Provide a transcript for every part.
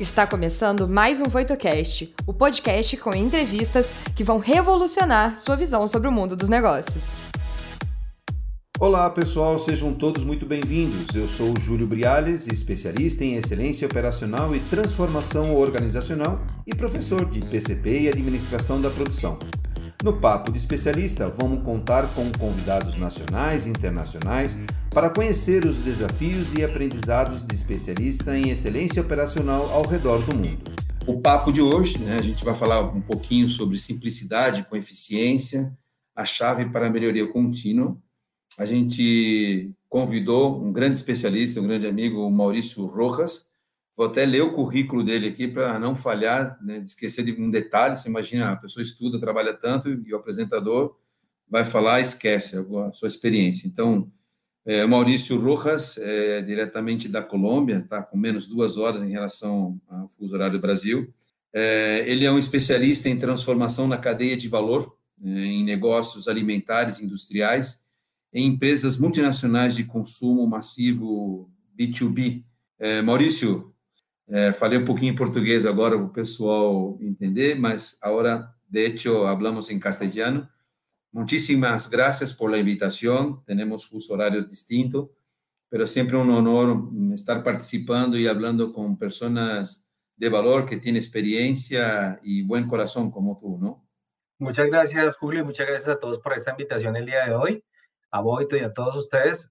Está começando mais um VoitoCast, o podcast com entrevistas que vão revolucionar sua visão sobre o mundo dos negócios. Olá pessoal, sejam todos muito bem-vindos. Eu sou o Júlio Briales, especialista em excelência operacional e transformação organizacional e professor de PCP e administração da produção. No Papo de Especialista, vamos contar com convidados nacionais e internacionais para conhecer os desafios e aprendizados de especialista em excelência operacional ao redor do mundo. O papo de hoje, a gente vai falar um pouquinho sobre simplicidade com eficiência, a chave para a melhoria contínua. A gente convidou um grande especialista, um grande amigo, o Maurício Rojas. Vou até ler o currículo dele aqui para não falhar, de esquecer de um detalhe. Você imagina, a pessoa estuda, trabalha tanto e o apresentador vai falar, esquece a sua experiência. Então, Maurício Rojas, diretamente da Colômbia, está com menos 2 horas em relação ao fuso horário do Brasil. Ele é um especialista em transformação na cadeia de valor, em negócios alimentares e industriais, em empresas multinacionais de consumo massivo B2B. Maurício, falei un pouquinho em português agora para o pessoal entender, mas agora, de hecho, hablamos en castellano. Muchísimas gracias por la invitación. Tenemos fusos horarios distintos, pero siempre un honor estar participando y hablando con personas de valor que tienen experiencia y buen corazón como tú, ¿no? Muchas gracias, Julio, y muchas gracias a todos por esta invitación el día de hoy, a Voito y a todos ustedes.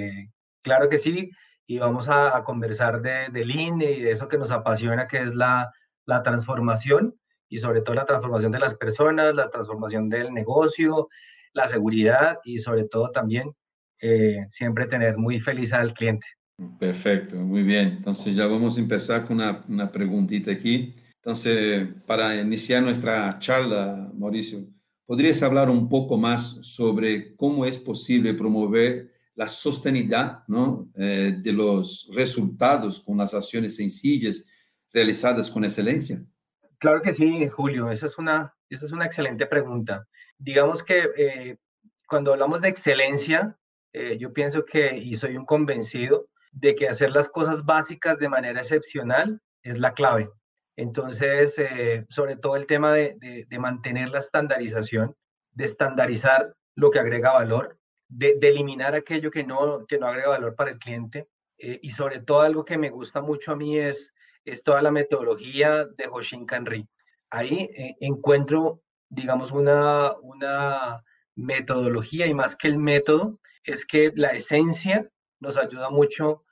Claro que sí, y vamos a conversar de Lean y de eso que nos apasiona, que es la transformación, y sobre todo la transformación de las personas, la transformación del negocio, la seguridad y sobre todo también siempre tener muy feliz al cliente. Perfecto, muy bien. Entonces ya vamos a empezar con una preguntita aquí. Entonces, para iniciar nuestra charla, Mauricio, ¿podrías hablar un poco más sobre cómo es posible promover la sostenibilidad, ¿no? De los resultados con las acciones sencillas realizadas con excelencia? Claro que sí, Julio, esa es una excelente pregunta. Digamos que cuando hablamos de excelencia, yo pienso que, y soy un convencido, de que hacer las cosas básicas de manera excepcional es la clave. Entonces, sobre todo el tema de mantener la estandarización, de estandarizar lo que agrega valor, de eliminar aquello que no agrega valor para el cliente, y sobre todo algo que me gusta mucho a mí es toda la metodología de Hoshin Kanri. Ahí encuentro, digamos, una metodología, y más que el método, es que la esencia nos ayuda mucho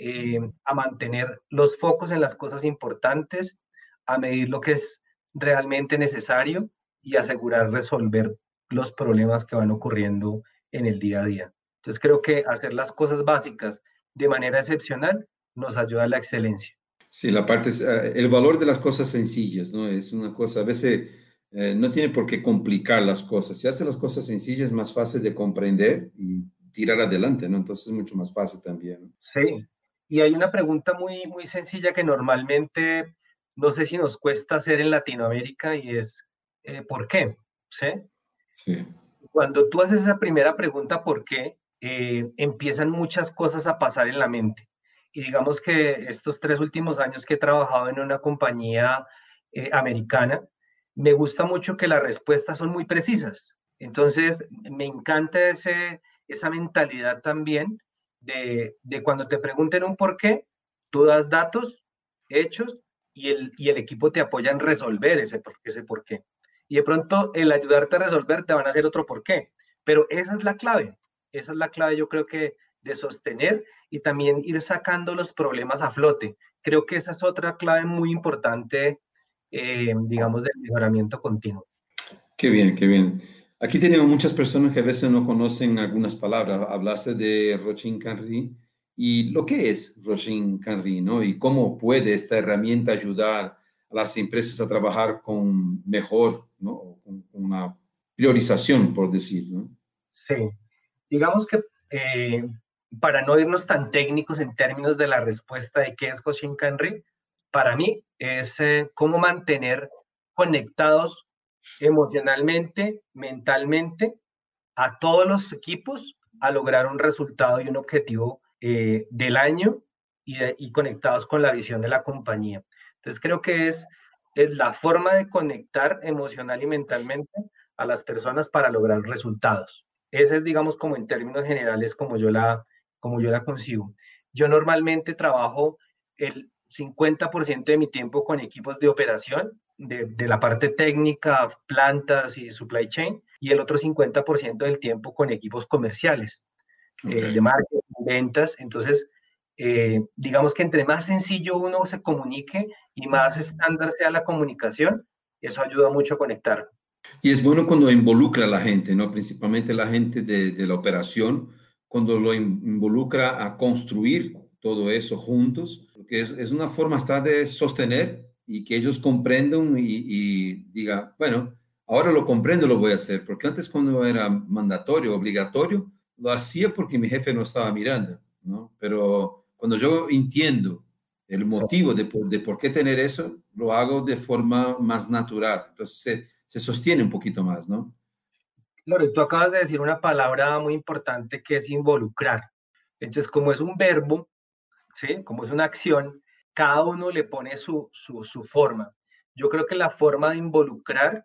a mantener los focos en las cosas importantes, a medir lo que es realmente necesario y asegurar resolver los problemas que van ocurriendo en el día a día. Entonces creo que hacer las cosas básicas de manera excepcional nos ayuda a la excelencia. Sí, la parte es el valor de las cosas sencillas, ¿no? Es una cosa, a veces no tiene por qué complicar las cosas. Si hace las cosas sencillas es más fácil de comprender y tirar adelante, ¿no? Entonces es mucho más fácil también, ¿no? Sí, y hay una pregunta muy sencilla que normalmente no sé si nos cuesta hacer en Latinoamérica y es ¿por qué? ¿Sí? Sí. Cuando tú haces esa primera pregunta, ¿por qué? Empiezan muchas cosas a pasar en la mente. Y digamos que estos 3 últimos años que he trabajado en una compañía americana, me gusta mucho que las respuestas son muy precisas. Entonces, me encanta esa mentalidad también de cuando te pregunten un por qué, tú das datos, hechos, y el equipo te apoya en resolver ese por qué. Y de pronto el ayudarte a resolver te van a hacer otro por qué. Pero esa es la clave yo creo que de sostener y también ir sacando los problemas a flote. Creo que esa es otra clave muy importante, digamos, del mejoramiento continuo. Qué bien, qué bien. Aquí tenemos muchas personas que a veces no conocen algunas palabras. Hablaste de Hoshin Kanri y lo que es Hoshin Kanri, ¿no? Y cómo puede esta herramienta ayudar a las empresas a trabajar con mejor, ¿no? Con una priorización, por decir, ¿no? Sí, digamos que para no irnos tan técnicos en términos de la respuesta de qué es Hoshin Kanri, para mí es cómo mantener conectados emocionalmente, mentalmente, a todos los equipos a lograr un resultado y un objetivo del año y conectados con la visión de la compañía. Entonces creo que es la forma de conectar emocional y mentalmente a las personas para lograr resultados. Ese es, digamos, como en términos generales, como yo la concibo. Yo normalmente trabajo el 50% de mi tiempo con equipos de operación, de la parte técnica, plantas y supply chain, y el otro 50% del tiempo con equipos comerciales, de Ok. marketing, ventas. Entonces, digamos que entre más sencillo uno se comunique y más estándar sea la comunicación, eso ayuda mucho a conectar. Y es bueno cuando involucra a la gente, ¿no? Principalmente la gente de la operación, cuando lo involucra a construir todo eso juntos, porque es una forma hasta de sostener y que ellos comprendan y digan, bueno, ahora lo comprendo, lo voy a hacer, porque antes cuando era mandatorio, obligatorio, lo hacía porque mi jefe no estaba mirando, ¿no? Pero cuando yo entiendo el motivo de por qué tener eso, lo hago de forma más natural. Entonces se sostiene un poquito más, ¿no? Claro, y tú acabas de decir una palabra muy importante que es involucrar. Entonces, como es un verbo, ¿sí? Como es una acción, cada uno le pone su forma. Yo creo que la forma de involucrar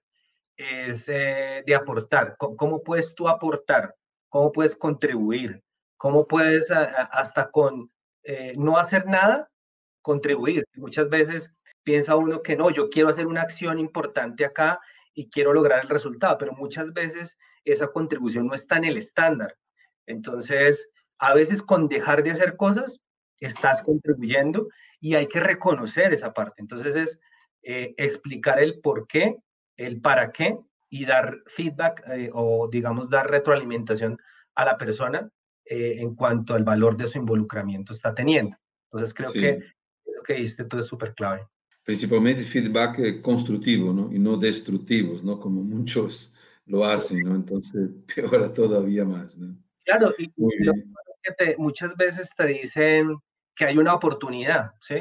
es de aportar. ¿Cómo puedes tú aportar? ¿Cómo puedes contribuir? ¿Cómo puedes hasta con no hacer nada, contribuir? Muchas veces piensa uno que no, yo quiero hacer una acción importante acá y quiero lograr el resultado, pero muchas veces esa contribución no está en el estándar. Entonces, a veces con dejar de hacer cosas, estás contribuyendo y hay que reconocer esa parte. Entonces, es explicar el por qué, el para qué y dar feedback o, digamos, dar retroalimentación a la persona en cuanto al valor de su involucramiento está teniendo. Entonces, creo que Sí, lo que diste tú es súper clave. principalmente feedback constructivo, ¿no? Y no destructivos, ¿no? Como muchos lo hacen, ¿no? Entonces, peor todavía más, ¿no? Claro, Muy y lo bien. que muchas veces te dicen que hay una oportunidad, ¿sí?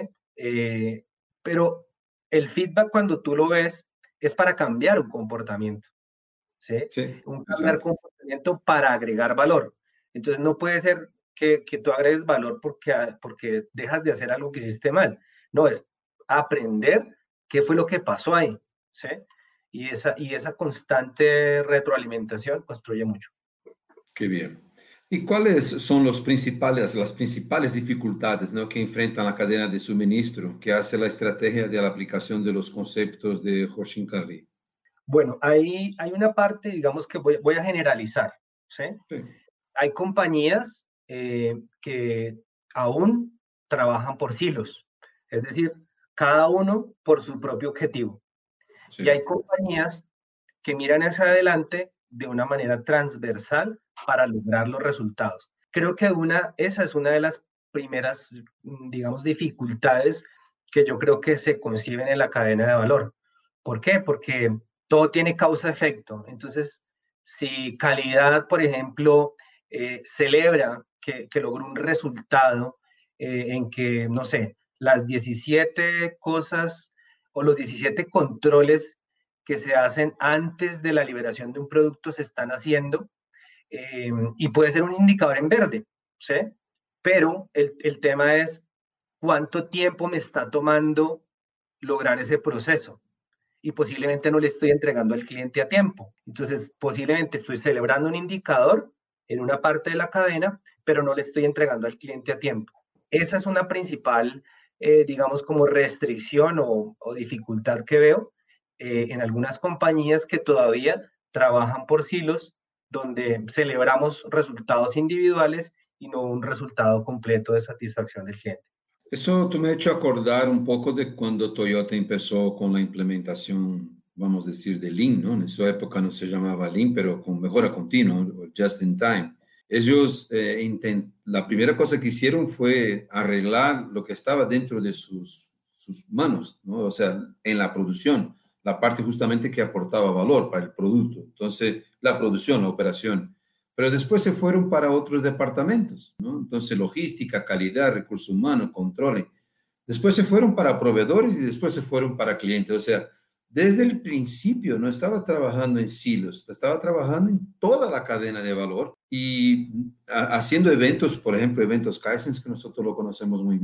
Eh, pero el feedback cuando tú lo ves es para cambiar un comportamiento, ¿sí? Sí, Un cambiar exacto. comportamiento para agregar valor. Entonces no puede ser que tú agregues valor porque dejas de hacer algo que hiciste mal. No, es aprender qué fue lo que pasó ahí, ¿sí? Y esa constante retroalimentación construye mucho. Qué bien. ¿Y cuáles son las principales dificultades, ¿no? que enfrentan la cadena de suministro que hace la estrategia de la aplicación de los conceptos de Hoshin Kanri? Bueno, hay una parte, digamos que voy a generalizar, ¿sí? Sí, Hay compañías que aún trabajan por silos, es decir, cada uno por su propio objetivo. Y sí, hay compañías que miran hacia adelante de una manera transversal para lograr los resultados. Creo que esa es una de las primeras, digamos, dificultades que yo creo que se conciben en la cadena de valor. ¿Por qué? Porque todo tiene causa-efecto. Entonces, si calidad, por ejemplo, celebra que logró un resultado en que, no sé, las 17 cosas o los 17 controles que se hacen antes de la liberación de un producto se están haciendo y puede ser un indicador en verde, ¿sí? Pero el tema es cuánto tiempo me está tomando lograr ese proceso y posiblemente no le estoy entregando al cliente a tiempo. Entonces, posiblemente estoy celebrando un indicador en una parte de la cadena, pero no le estoy entregando al cliente a tiempo. Esa es una principal, digamos, como restricción o dificultad que veo en algunas compañías que todavía trabajan por silos, donde celebramos resultados individuales y no un resultado completo de satisfacción del cliente. eso tú me ha hecho acordar un poco de cuando Toyota empezó con la implementación, vamos a decir, de Lean, ¿no? En su época no se llamaba Lean, pero con mejora continua, o just in time. Ellos, la primera cosa que hicieron fue arreglar lo que estaba dentro de sus manos, ¿no? O sea, en la producción, la parte justamente que aportaba valor para el producto. Entonces, la producción, la operación. Pero después se fueron para otros departamentos, ¿no? Entonces, logística, calidad, recursos humanos, control. Después se fueron para proveedores y después se fueron para clientes. O sea, desde el principio no estaba trabajando en silos, estaba trabajando en toda la cadena de valor y haciendo eventos, por ejemplo, eventos Kaizen, que nosotros lo conocemos muy bien,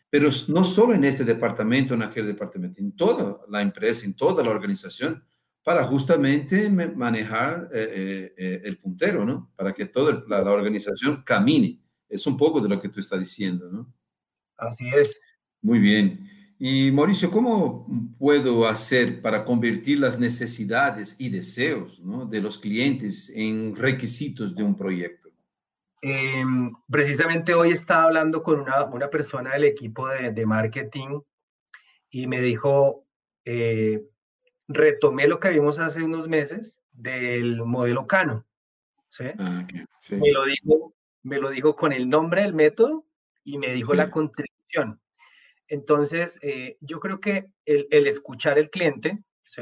pero no solo en este departamento, en aquel departamento, en toda la empresa, en toda la organización, para justamente manejar el puntero, ¿no? Para que toda la organización camine. Es un poco de lo que tú estás diciendo, ¿no? Así es. Muy bien. Y Mauricio, ¿cómo puedo hacer para convertir las necesidades y deseos, ¿no?, de los clientes en requisitos de un proyecto? Precisamente hoy estaba hablando con una persona del equipo de marketing y me dijo, retomé lo que vimos hace unos meses del modelo Cano, ¿sí? Ah, okay. Sí, Me lo dijo, me lo dijo con el nombre del método y me dijo la sí, contribución. Entonces, yo creo que el escuchar al cliente, ¿sí?,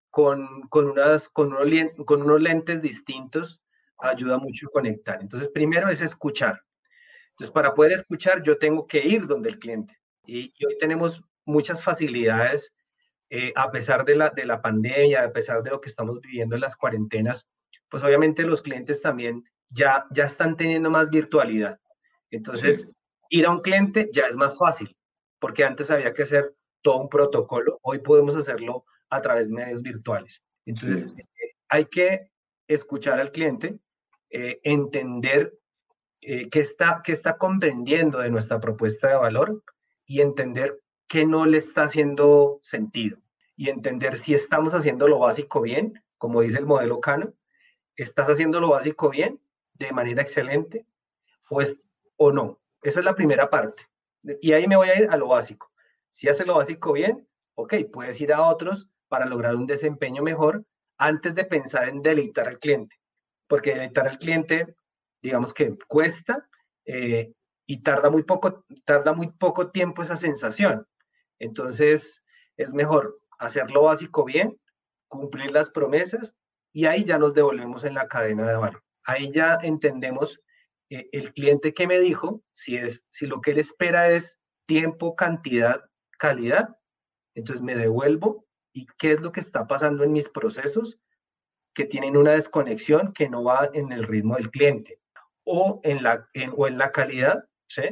con unos lentes distintos ayuda mucho a conectar. Entonces, primero es escuchar. Entonces, para poder escuchar, yo tengo que ir donde el cliente. Y hoy tenemos muchas facilidades, a pesar de la pandemia, a pesar de lo que estamos viviendo en las cuarentenas, pues obviamente los clientes también ya están teniendo más virtualidad. sí, Entonces, ir a un cliente ya es más fácil, porque antes había que hacer todo un protocolo, hoy podemos hacerlo a través de medios virtuales. Entonces, sí, hay que escuchar al cliente, entender qué está comprendiendo de nuestra propuesta de valor y entender qué no le está haciendo sentido y entender si estamos haciendo lo básico bien, como dice el modelo Cano, estás haciendo lo básico bien, de manera excelente, o, es, o no. Esa es la primera parte. Y ahí me voy a ir a lo básico. Si haces lo básico bien, ok, puedes ir a otros para lograr un desempeño mejor antes de pensar en deleitar al cliente. Porque deleitar al cliente, digamos que cuesta, y tarda muy poco tiempo esa sensación. Entonces, es mejor hacer lo básico bien, cumplir las promesas y ahí ya nos devolvemos en la cadena de valor. Ahí ya entendemos, el cliente que me dijo, si lo que él espera es tiempo, cantidad, calidad, entonces me devuelvo y qué es lo que está pasando en mis procesos que tienen una desconexión que no va en el ritmo del cliente o en la calidad, ¿sí?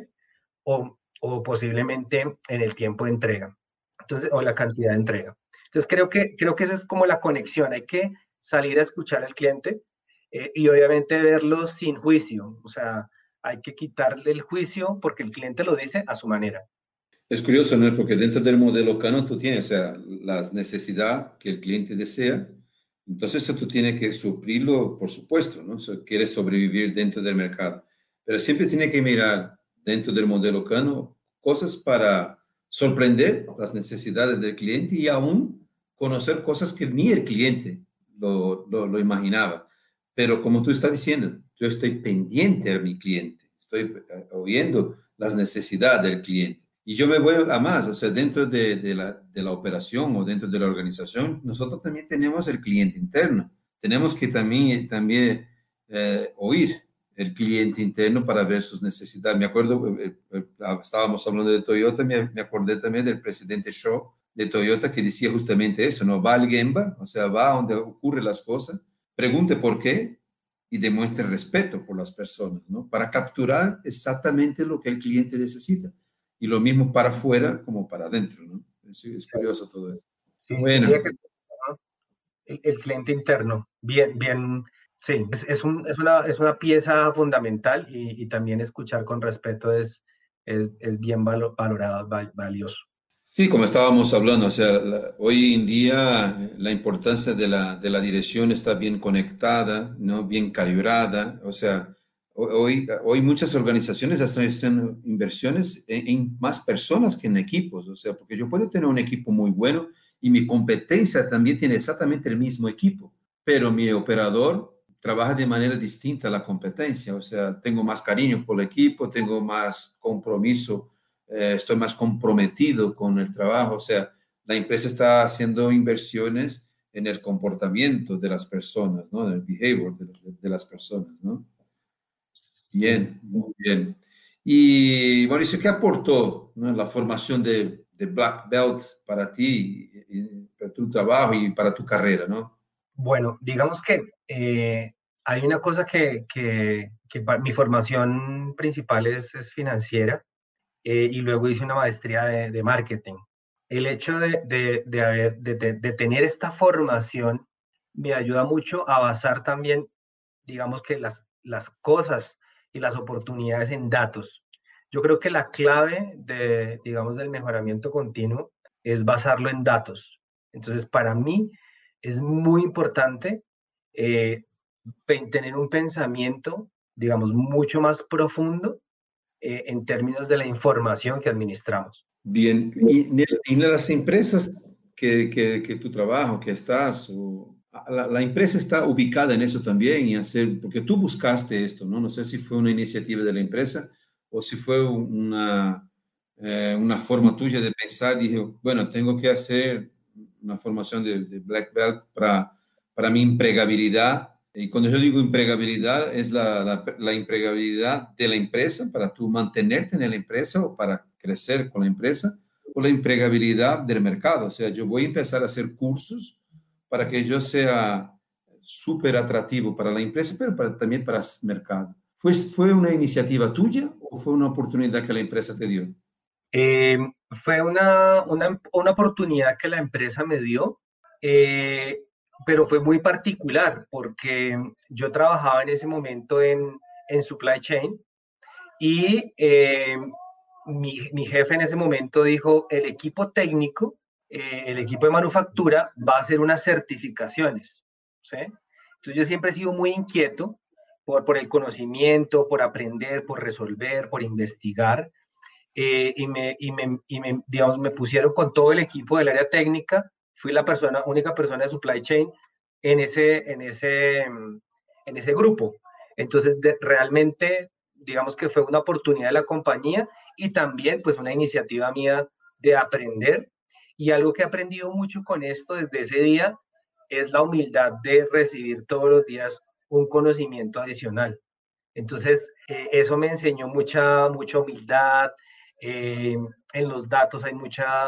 O posiblemente en el tiempo de entrega, entonces, o la cantidad de entrega. Entonces, creo que esa es como la conexión. Hay que salir a escuchar al cliente, y obviamente verlo sin juicio. O sea, hay que quitarle el juicio porque el cliente lo dice a su manera. es curioso, ¿no? Porque dentro del modelo Canon tú tienes, o sea, las necesidades que el cliente desea, entonces eso tú tienes que suplirlo, por supuesto, ¿no? O sea, quieres sobrevivir dentro del mercado, pero siempre tiene que mirar dentro del modelo Canon cosas para sorprender las necesidades del cliente y aún conocer cosas que ni el cliente lo imaginaba. Pero como tú estás diciendo, yo estoy pendiente a mi cliente, estoy oyendo las necesidades del cliente. Y yo me voy a más, o sea, dentro de la operación o dentro de la organización, nosotros también tenemos el cliente interno. Tenemos que también oír el cliente interno para ver sus necesidades. Me acuerdo, estábamos hablando de Toyota, me acordé también del presidente Shaw de Toyota que decía justamente eso, ¿no? Va al Gemba, o sea, va a donde ocurren las cosas, pregunte por qué y demuestre respeto por las personas, ¿no? Para capturar exactamente lo que el cliente necesita. Y lo mismo para afuera como para adentro, ¿no? Es curioso todo eso. Sí, diría Bueno, que el cliente interno, bien, sí, es una pieza fundamental y también escuchar con respeto es bien valorado, valioso. sí, como estábamos hablando, o sea, hoy en día la importancia de la dirección está bien conectada, ¿no? Bien calibrada, o sea, hoy muchas organizaciones están haciendo inversiones en más personas que en equipos, o sea, porque yo puedo tener un equipo muy bueno y mi competencia también tiene exactamente el mismo equipo, pero mi operador trabaja de manera distinta a la competencia, o sea, tengo más cariño por el equipo, tengo más compromiso, estoy más comprometido con el trabajo, o sea, la empresa está haciendo inversiones en el comportamiento de las personas, ¿no? En el behavior de las personas, ¿no? Sí. Bien, muy bien. Y Mauricio, ¿qué aportó, ¿no?, la formación de Black Belt para ti, para tu trabajo y para tu carrera, ¿no? Bueno, digamos que hay una cosa mi formación principal es financiera y luego hice una maestría de marketing. El hecho de tener esta formación me ayuda mucho a basar también, digamos que las cosas y las oportunidades en datos. Yo creo que la clave digamos, del mejoramiento continuo es basarlo en datos. Entonces, para mí es muy importante eh, tener un pensamiento, digamos, mucho más profundo en términos de la información que administramos. Bien, y en las empresas que tu trabajo, que estás, la empresa está ubicada en eso también y hacer, porque tú buscaste esto, ¿no? No sé si fue una iniciativa de la empresa o si fue una forma tuya de pensar, dije, bueno, tengo que hacer una formación de Black Belt para mi empregabilidad. Y cuando yo digo empregabilidad, es la empregabilidad de la empresa para tú mantenerte en la empresa o para crecer con la empresa, o la empregabilidad del mercado. O sea, yo voy a empezar a hacer cursos para que yo sea súper atractivo para la empresa, pero también para el mercado. ¿Fue una iniciativa tuya o fue una oportunidad que la empresa te dio? Eh, Fue una oportunidad que la empresa me dio, eh, pero fue muy particular porque yo trabajaba en ese momento en supply chain y mi jefe en ese momento dijo, el equipo técnico, el equipo de manufactura va a hacer unas certificaciones, ¿sí? Entonces yo siempre he sido muy inquieto por el conocimiento, por aprender, por resolver, por investigar digamos, me pusieron con todo el equipo del área técnica. Fui la única persona de supply chain en ese grupo. Entonces, realmente, digamos que fue una oportunidad de la compañía y también, pues, una iniciativa mía de aprender. Y algo que he aprendido mucho con esto desde ese día es la humildad de recibir todos los días un conocimiento adicional. Entonces, eso me enseñó mucha humildad. eh, en los datos hay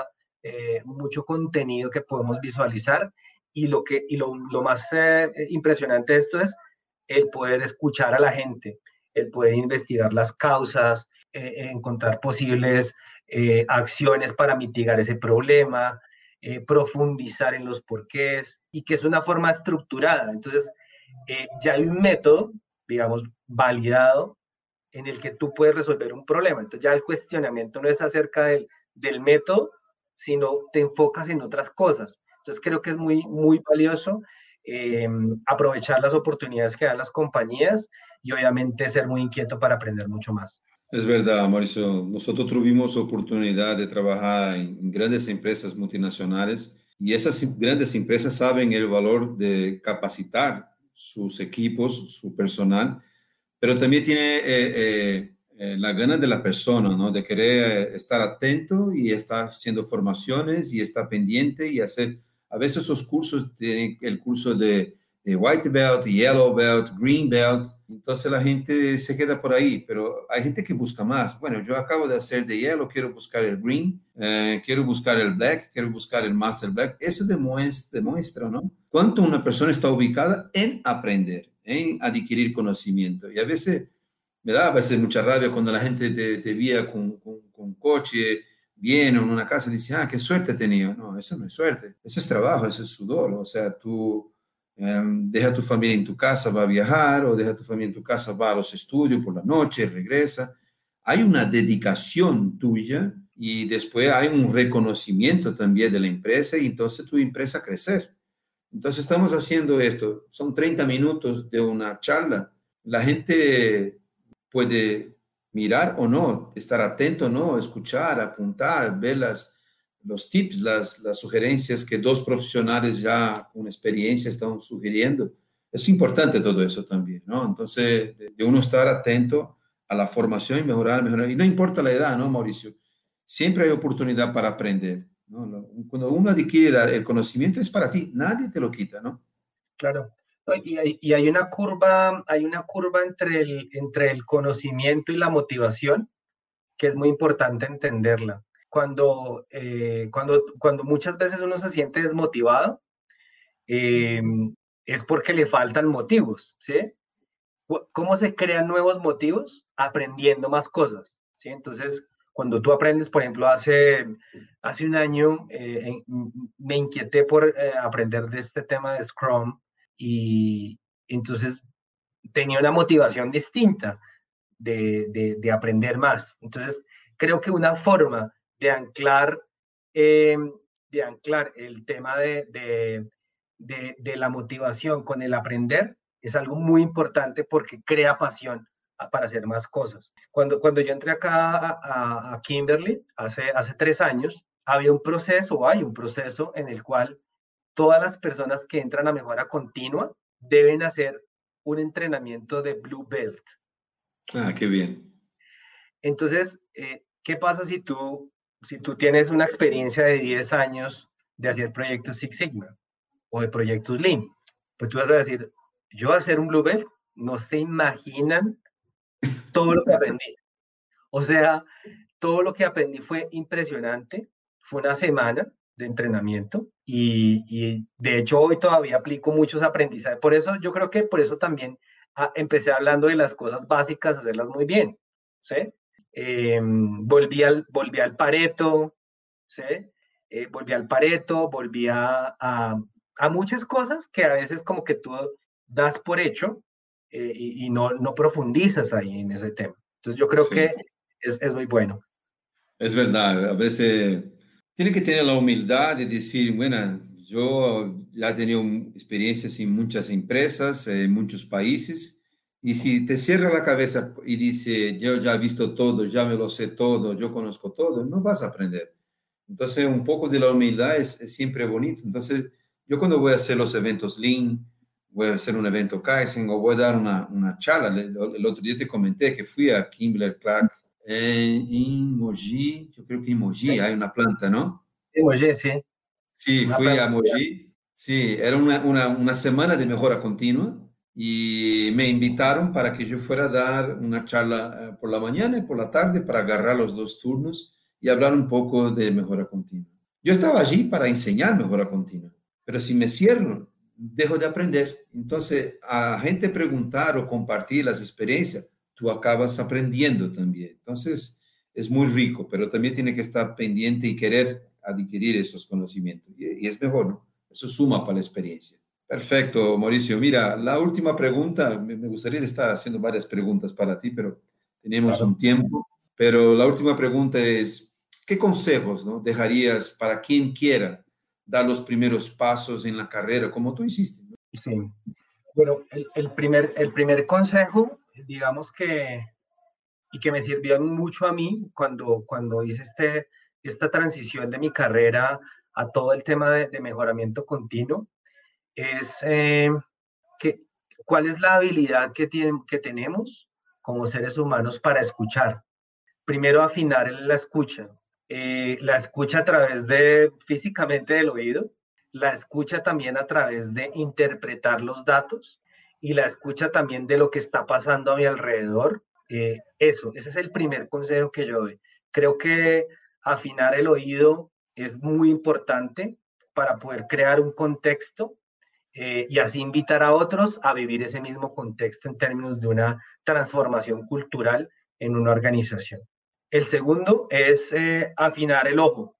mucho contenido que podemos visualizar y lo más impresionante de esto es el poder escuchar a la gente, el poder investigar las causas, encontrar posibles acciones para mitigar ese problema, profundizar en los porqués y que es una forma estructurada. Entonces, ya hay un método, digamos, validado en el que tú puedes resolver un problema. Entonces ya el cuestionamiento no es acerca del método, sino te enfocas en otras cosas. Entonces creo que es muy valioso aprovechar las oportunidades que dan las compañías y obviamente ser muy inquieto para aprender mucho más. Es verdad, Mauricio. Nosotros tuvimos oportunidad de trabajar en grandes empresas multinacionales y esas grandes empresas saben el valor de capacitar sus equipos, su personal, pero también tiene la gana de la persona, ¿no? De querer estar atento y estar haciendo formaciones y estar pendiente y hacer, a veces esos cursos, el curso de White Belt, Yellow Belt, Green Belt, entonces la gente se queda por ahí, pero hay gente que busca más. Bueno, yo acabo de hacer de Yellow, quiero buscar el Green, quiero buscar el Black, quiero buscar el Master Black. Eso demuestra, ¿no? Cuánto una persona está ubicada en aprender, en adquirir conocimiento. Y a veces me da a veces mucha rabia cuando la gente te vía con coche, viene en una casa y dice, ah, qué suerte he tenido. No, eso no es suerte, eso es trabajo, eso es sudor. O sea, tú deja a tu familia en tu casa, va a viajar, o deja a tu familia en tu casa, va a los estudios por la noche, regresa. Hay una dedicación tuya y después hay un reconocimiento también de la empresa y entonces tu empresa crecer. Entonces estamos haciendo esto, son 30 minutos de una charla. La gente puede mirar o no, estar atento o no, escuchar, apuntar, ver los tips, las sugerencias que dos profesionales ya con experiencia están sugiriendo. Es importante todo eso también, ¿no? Entonces, de uno estar atento a la formación y mejorar, mejorar. Y no importa la edad, ¿no, Mauricio? Siempre hay oportunidad para aprender, ¿no? Cuando uno adquiere el conocimiento es para ti, nadie te lo quita, ¿no? Claro. No, y hay una curva entre el conocimiento y la motivación que es muy importante entenderla. Cuando muchas veces uno se siente desmotivado, eh, es porque le faltan motivos, ¿sí? ¿Cómo se crean nuevos motivos? Aprendiendo más cosas, ¿sí? Entonces, Cuando tú aprendes, por ejemplo, hace un año me inquieté por aprender de este tema de Scrum y entonces tenía una motivación distinta de aprender más. Entonces, creo que una forma de anclar, eh, de anclar el tema de la motivación con el aprender es algo muy importante porque crea pasión para hacer más cosas. Cuando yo entré acá a Kimberly hace 3 años, había un proceso, hay un proceso en el cual todas las personas que entran a mejora continua deben hacer un entrenamiento de Blue Belt. Ah, qué bien. Entonces, ¿qué pasa si tú tienes una experiencia de 10 años de hacer proyectos Six Sigma o de proyectos Lean? Pues tú vas a decir, yo voy a hacer un Blue Belt, no se imaginan todo lo que aprendí. O sea, todo lo que aprendí fue impresionante. Fue una semana de entrenamiento y de hecho hoy todavía aplico muchos aprendizajes. Por eso yo creo que por eso también empecé hablando de las cosas básicas, hacerlas muy bien, ¿sí? Volví al Pareto, ¿sí? Volví al Pareto, volví a muchas cosas que a veces como que tú das por hecho y no profundizas ahí en ese tema. Entonces yo creo Sí. que es muy bueno. Es verdad, a veces tiene que tener la humildad de decir, bueno, yo ya he tenido experiencias en muchas empresas, en muchos países, y si te cierra la cabeza y dice, yo ya he visto todo, ya me lo sé todo, yo conozco todo, no vas a aprender. Entonces, un poco de la humildad es siempre bonito. Entonces, yo cuando voy a hacer los eventos Lean, voy a hacer un evento Kaizen o voy a dar una charla, el otro día te comenté que fui a Kimberly Clark en Mogi, yo creo que en Mogi hay una planta, ¿no? Sí, oye, sí, Sí, una fui planta. a Mogi. Sí, era una semana de mejora continua y me invitaron para que yo fuera a dar una charla por la mañana y por la tarde para agarrar los dos turnos y hablar un poco de mejora continua. Yo estaba allí para enseñar mejora continua, pero si me cierro, dejo de aprender. Entonces, a la gente preguntar o compartir las experiencias, tú acabas aprendiendo también. Entonces, es muy rico, pero también tiene que estar pendiente y querer adquirir esos conocimientos. Y es mejor, ¿no? Eso suma para la experiencia. Perfecto, Mauricio. Mira, la última pregunta, me gustaría estar haciendo varias preguntas para ti, pero tenemos Claro. un tiempo. Pero la última pregunta es, ¿qué consejos, no, dejarías para quien quiera dar los primeros pasos en la carrera, como tú hiciste, ¿no? Sí. Bueno, el primer consejo, digamos que me sirvió mucho a mí cuando hice esta transición de mi carrera a todo el tema de mejoramiento continuo, es que, cuál es la habilidad que tenemos como seres humanos para escuchar. Primero, afinar la escucha. La escucha a través de físicamente del oído, la escucha también a través de interpretar los datos y la escucha también de lo que está pasando a mi alrededor. Ese es el primer consejo que yo doy. Creo que afinar el oído es muy importante para poder crear un contexto y así invitar a otros a vivir ese mismo contexto en términos de una transformación cultural en una organización. El segundo es afinar el ojo.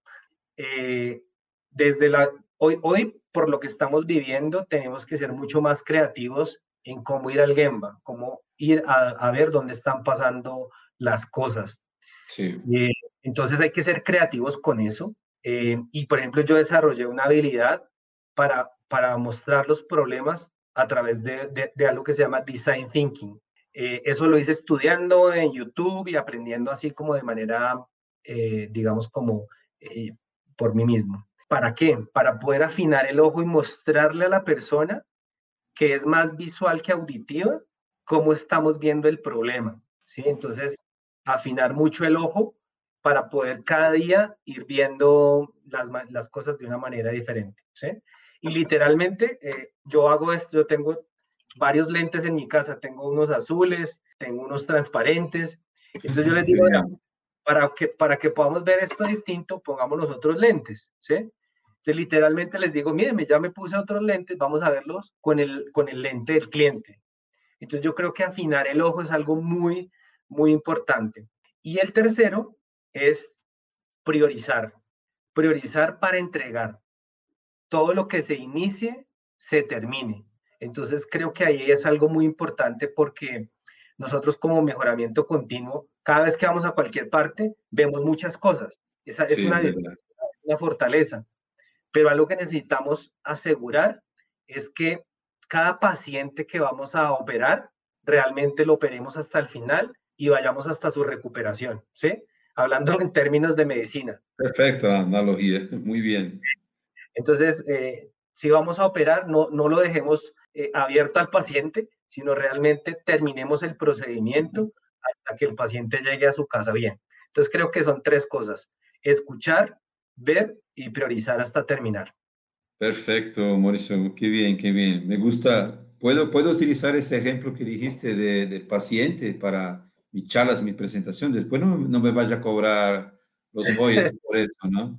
Eh, desde hoy, por lo que estamos viviendo, tenemos que ser mucho más creativos en cómo ir al Gemba, cómo ir a ver dónde están pasando las cosas. Sí. Eh, entonces hay que ser creativos con eso. Y por ejemplo, yo desarrollé una habilidad para mostrar los problemas a través de algo que se llama design thinking. Eso lo hice estudiando en YouTube y aprendiendo así como de manera, digamos, como eh, por mí mismo. ¿Para qué? Para poder afinar el ojo y mostrarle a la persona que es más visual que auditiva cómo estamos viendo el problema, ¿sí? Entonces, afinar mucho el ojo para poder cada día ir viendo las cosas de una manera diferente, ¿sí? Y literalmente yo hago esto, yo tengo varios lentes en mi casa, tengo unos azules, tengo unos transparentes, entonces yo les Qué digo, bien. para que podamos ver esto distinto, pongamos los otros lentes, ¿sí? Entonces, literalmente les digo, mírenme, ya me puse otros lentes, vamos a verlos con el lente del cliente. Entonces, yo creo que afinar el ojo es algo muy, muy importante. Y el tercero es priorizar para entregar. Todo lo que se inicie, se termine. Entonces creo que ahí es algo muy importante porque nosotros como mejoramiento continuo, cada vez que vamos a cualquier parte, vemos muchas cosas. Esa es una fortaleza. Pero algo que necesitamos asegurar es que cada paciente que vamos a operar, realmente lo operemos hasta el final y vayamos hasta su recuperación, ¿sí? Hablando en términos de medicina. Perfecta analogía, muy bien. Entonces, si vamos a operar, no lo dejemos abierto al paciente, sino realmente terminemos el procedimiento hasta que el paciente llegue a su casa bien. Entonces, creo que son 3 cosas: escuchar, ver y priorizar hasta terminar. Perfecto, Mauricio, qué bien, qué bien. Me gusta. ¿Puedo utilizar ese ejemplo que dijiste de paciente para mis charlas, mi presentación? Después no me vaya a cobrar los royalties por eso, ¿no?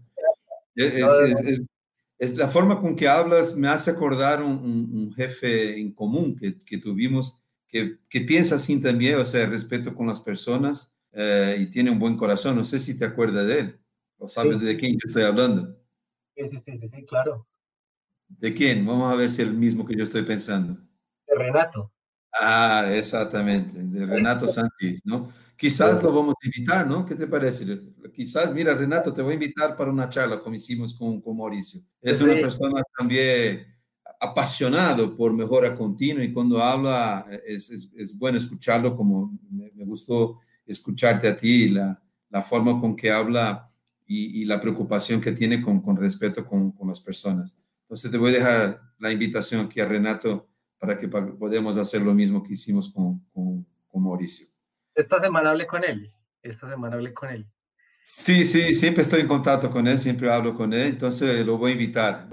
Es la forma con que hablas me hace acordar un jefe en común que tuvimos, que piensa así también, o sea, respeto con las personas y tiene un buen corazón. No sé si te acuerdas de él o sabes de quién yo estoy hablando. Sí, claro. ¿De quién? Vamos a ver si es el mismo que yo estoy pensando. De Renato. Ah, exactamente, de Renato Santis, ¿no? Quizás lo vamos a invitar, ¿no? ¿Qué te parece? Quizás, mira, Renato, te voy a invitar para una charla, como hicimos con Mauricio. Es una persona también apasionado por mejora continua y cuando habla es bueno escucharlo, como me gustó escucharte a ti, la forma con que habla y la preocupación que tiene con respeto con las personas. Entonces te voy a dejar la invitación aquí a Renato para que podamos hacer lo mismo que hicimos con Mauricio. Esta semana hablé con él. Sí, siempre estoy en contacto con él, siempre hablo con él, entonces lo voy a invitar.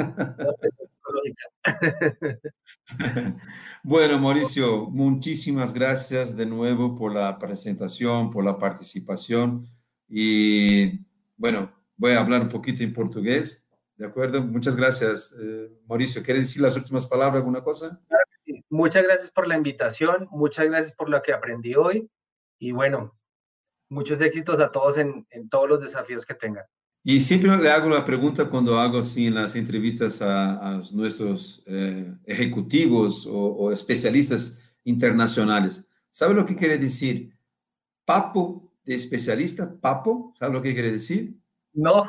Bueno, Mauricio, muchísimas gracias de nuevo por la presentación, por la participación y bueno, voy a hablar un poquito en portugués. ¿De acuerdo? Muchas gracias, Mauricio. ¿Quieres decir las últimas palabras, alguna cosa? Muchas gracias por la invitación, muchas gracias por lo que aprendí hoy y bueno, muchos éxitos a todos en todos los desafíos que tengan. Y siempre le hago la pregunta cuando hago así en las entrevistas a nuestros ejecutivos o especialistas internacionales. ¿Sabe lo que quiere decir? Papo de especialista, papo, ¿sabe lo que quiere decir? No.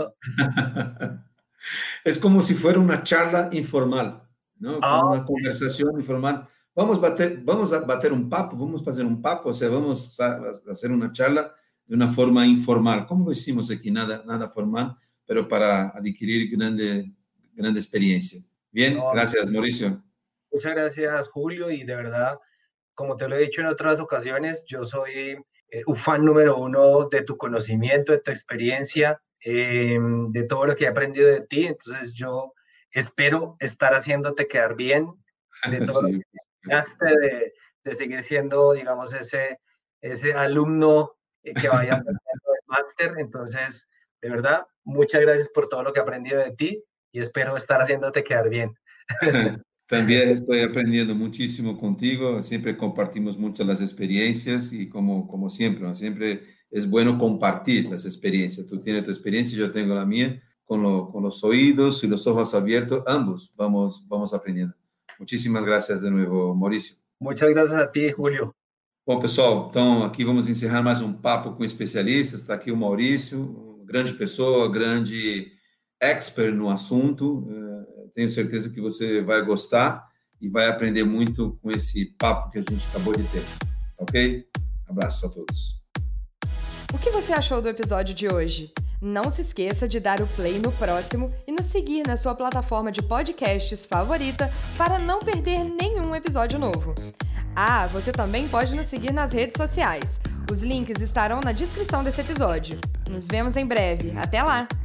Es como si fuera una charla informal, ¿no? Como una conversación informal. Vamos a bater un papo, vamos a hacer un papo, o sea, vamos a hacer una charla de una forma informal, como lo hicimos aquí, nada formal, pero para adquirir grande experiencia. Bien, gracias, Mauricio. Muchas gracias, Julio, y de verdad, como te lo he dicho en otras ocasiones, yo soy un fan número 1 de tu conocimiento, de tu experiencia, de todo lo que he aprendido de ti. Entonces yo espero estar haciéndote quedar bien, de todo lo que enseñaste, de seguir siendo, digamos, ese alumno que vaya aprendiendo el máster. Entonces, de verdad, muchas gracias por todo lo que he aprendido de ti y espero estar haciéndote quedar bien. También estoy aprendiendo muchísimo contigo, siempre compartimos muchas las experiencias y como siempre, ¿no? Siempre es bueno compartir las experiencias. Tú tienes tu experiencia, yo tengo la mía, con los oídos y los ojos abiertos, ambos vamos aprendiendo. Muchísimas gracias de nuevo, Mauricio. Muchas gracias a ti, Julio. Bom, pessoal, então aqui vamos encerrar mais um papo com especialistas. Está aqui o Maurício, grande pessoa, grande expert no assunto. Tenho certeza que você vai gostar e vai aprender muito com esse papo que a gente acabou de ter. Ok? Abraço a todos. O que você achou do episódio de hoje? Não se esqueça de dar o play no próximo e nos seguir na sua plataforma de podcasts favorita para não perder nenhum episódio novo. Ah, você também pode nos seguir nas redes sociais. Os links estarão na descrição desse episódio. Nos vemos em breve. Até lá!